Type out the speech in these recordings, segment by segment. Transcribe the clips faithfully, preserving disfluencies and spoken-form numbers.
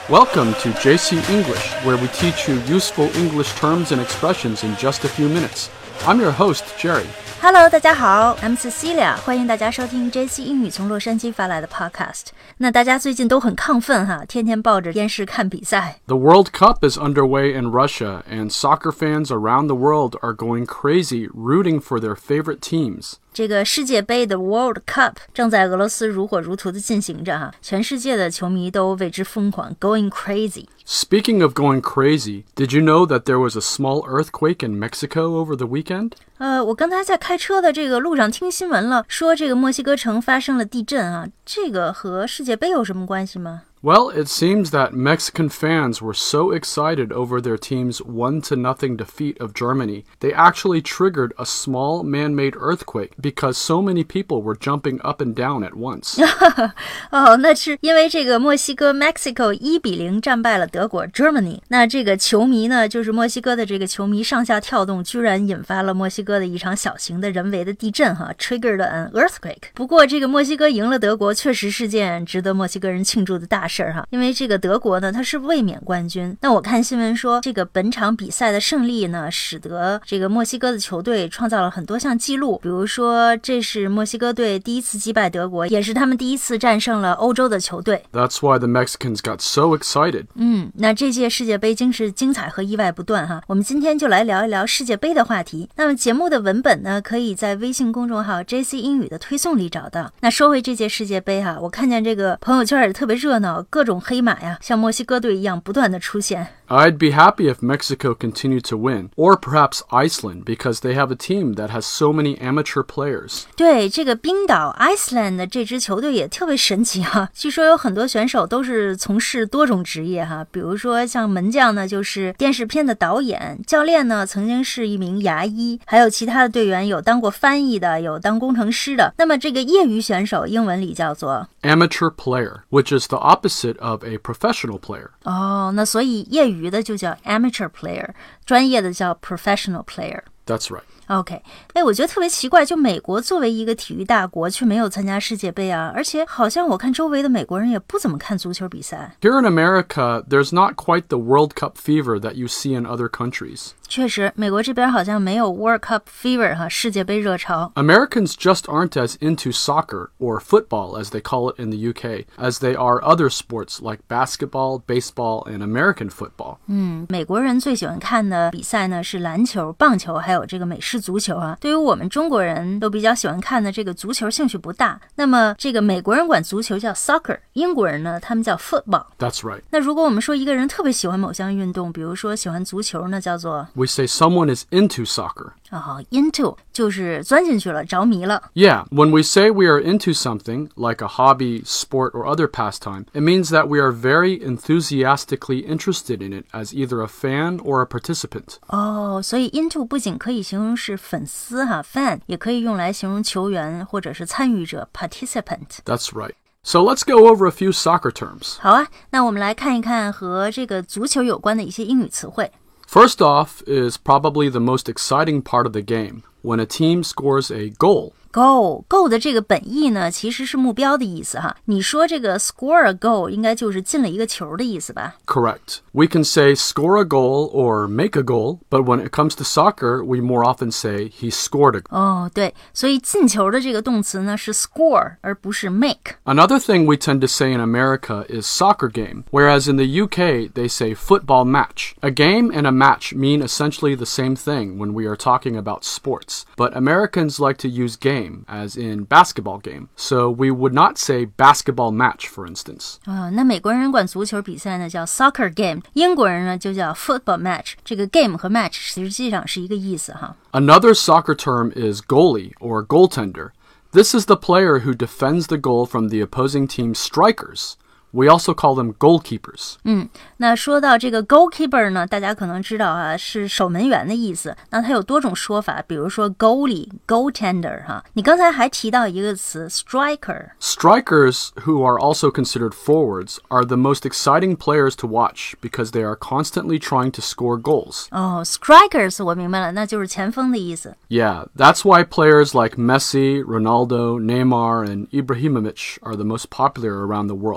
Welcome to J C English, where we teach you useful English terms and expressions in just a few minutes. I'm your host, Jerry.Hello， 大家好 ，I'm Cecilia， 欢迎大家收听 J C 英语从洛杉矶发来的 podcast。那大家最近都很亢奋哈，天天抱着电视看比赛。 The World Cup is underway in Russia, and soccer fans around the world are going crazy rooting for their favorite teams. 这个世界杯的 World Cup 正在俄罗斯如火如荼的进行着哈，全世界的球迷都为之疯狂 ，going crazy。Speaking of going crazy, did you know that there was a small earthquake in Mexico over the weekend? 呃，我刚才在开车的这个路上听新闻了，说这个墨西哥城发生了地震啊，这个和世界杯有什么关系吗 ？Well, it seems that Mexican fans were so excited over their team's one to nothing defeat of Germany, they actually triggered a small man-made earthquake because so many people were jumping up and down at once. 哦，那是因为这个墨西哥 Mexico 一比零战败了德国 Germany， 那这个球迷呢，就是墨西哥的这个球迷上下跳动，居然引发了墨西哥的一场小型的人为的地震哈 ，triggered an earthquake。不过这个墨西哥赢了德国，确实是件值得墨西哥人庆祝的大事儿哈，因为这个德国呢，它是卫冕冠军。那我看新闻说，这个本场比赛的胜利呢，使得这个墨西哥的球队创造了很多项纪录，比如说这是墨西哥队第一次击败德国，也是他们第一次战胜了欧洲的球队。 That's why the Mexicans got so excited. 嗯，那这届世界杯真是精彩和意外不断哈。我们今天就来聊一聊世界杯的话题。那么节目的文本呢，可以在微信公众号 J C 英语的推送里找到。那说回这届世界杯哈，我看见这个朋友圈也特别热闹，各种黑马呀，像墨西哥队一样不断的出现。 I'd be happy if Mexico continued to win, or perhaps Iceland, because they have a team that has so many amateur players. 对，这个冰岛 Iceland 的这支球队也特别神奇哈，据说有很多选手都是从事多种职业哈，比如说像门将呢就是电视片的导演，教练呢曾经是一名牙医，还有其他的队员有当过翻译的，有当工程师的。那么这个业余选手英文里叫做 amateur player, which is the opposite of a professional player. 哦，那所以业余的就叫 amateur player， 专业的叫 professional player. That's right.OK， 哎，我觉得特别奇怪，就美国作为一个体育大国，却没有参加世界杯啊！而且好像我看周围的美国人也不怎么看足球比赛。 Here in America, there's not quite the World Cup fever that you see in other countries. 确实，美国这边好像没有 World Cup fever 哈，世界杯热潮。 Americans just aren't as into soccer, or football as they call it in the U K, as they are other sports like basketball, baseball, and American football. 嗯，美国人最喜欢看的比赛呢是篮球、棒球，还有这个美式足球啊。对于我们中国人都比较喜欢看的这个足球兴趣不大。那么这个美国人管足球叫 soccer， 英国人呢他们叫 football. That's right. 那如果我们说一个人特别喜欢某项运动，比如说喜欢足球呢，叫做 We say someone is into soccer. 哦 into 就是钻进去了，着迷了。 Yeah, when we say we are into something, like a hobby, sport, or other pastime, it means that we are very enthusiastically interested in it as either a fan or a participant. 哦，所以 into 不仅可以形容是粉丝哈 fan， 也可以用来形容球员或者是参与者 participant. That's right.So let's go over a few soccer terms. 好啊，那我们来看一看和这个足球有关的一些英语词汇。 First off is probably the most exciting part of the game, when a team scores a goal. Goal, goal 的这个本意呢，其实是目标的意思哈。你说这个 score a goal 应该就是进了一个球的意思吧？ Correct. We can say score a goal or make a goal, but when it comes to soccer, we more often say he scored a goal. 哦，对，所以进球的这个动词呢是 score 而不是 make. Another thing we tend to say in America is soccer game, whereas in the U K, they say football match. A game and a match mean essentially the same thing when we are talking about sports, but Americans like to use game as in basketball game. So we would not say basketball match, for instance. 啊，那美国人管足球比赛呢叫 soccer game， 英国人呢就叫 football match。这个 game 和 match 实际上是一个意思哈。 Another soccer term is goalie or goaltender. This is the player who defends the goal from the opposing team's strikers.We also call them goalkeepers. 嗯，那说到这个 goalkeeper 呢，大家可能知道啊，是守门员的意思。那它有多种说法，比如说 goalie, goaltender 哈。你刚才还提到一个词 striker. Strikers, who are also considered forwards, are the most exciting players to watch because they are constantly trying to score goals. 哦 strikers 我明白了，那就是前锋的意思。 Yeah, that's why players like Messi, Ronaldo, Neymar, and Ibrahimovic are the most popular around the world.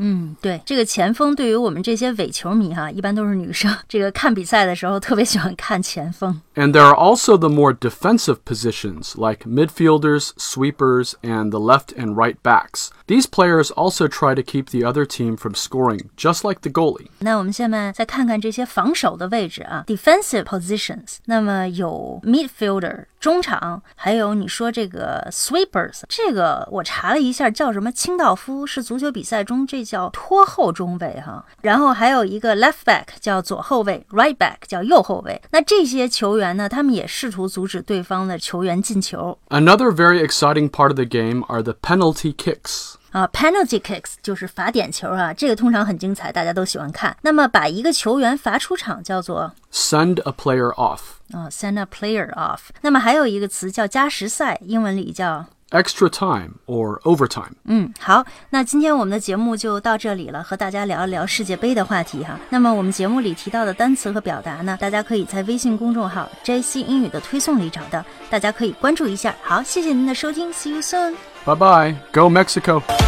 嗯，对，这个前锋对于我们这些伪球迷哈，一般都是女生，这个看比赛的时候特别喜欢看前锋。 And there are also the more defensive positions like midfielders, sweepers, and the left and right backs. These players also try to keep the other team from scoring, just like the goalie. 那我们下面再看看这些防守的位置啊 ，defensive positions。那么有 midfielder 中场，还有你说这个 sweepers， 这个我查了一下叫什么清道夫，是足球比赛中这叫拖后中卫哈。然后还有一个 left back 叫左后卫 ，right back 叫右后卫。那这些球员呢，他们也试图阻止对方的球员进球。 Another very exciting part of the game are the penalty kicks. 啊 ，penalty kicks 就是罚点球啊，这个通常很精彩，大家都喜欢看。那么把一个球员罚出场叫做 send a player off 啊 ，send a player off。那么还有一个词叫加时赛，英文里叫 extra time or overtime。 嗯，好，那今天我们的节目就到这里了，和大家聊一聊世界杯的话题哈。那么我们节目里提到的单词和表达呢，大家可以在微信公众号 J C 英语的推送里找到，大家可以关注一下。好，谢谢您的收听 ，See you soon。 Bye bye. Go Mexico.